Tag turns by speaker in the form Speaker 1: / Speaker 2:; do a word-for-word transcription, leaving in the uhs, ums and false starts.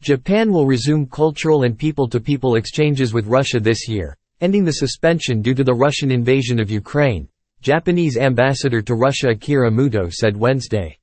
Speaker 1: Japan will resume cultural and people-to-people exchanges with Russia this year, ending the suspension due to the Russian invasion of Ukraine, Japanese ambassador to Russia Akira Muto said Wednesday.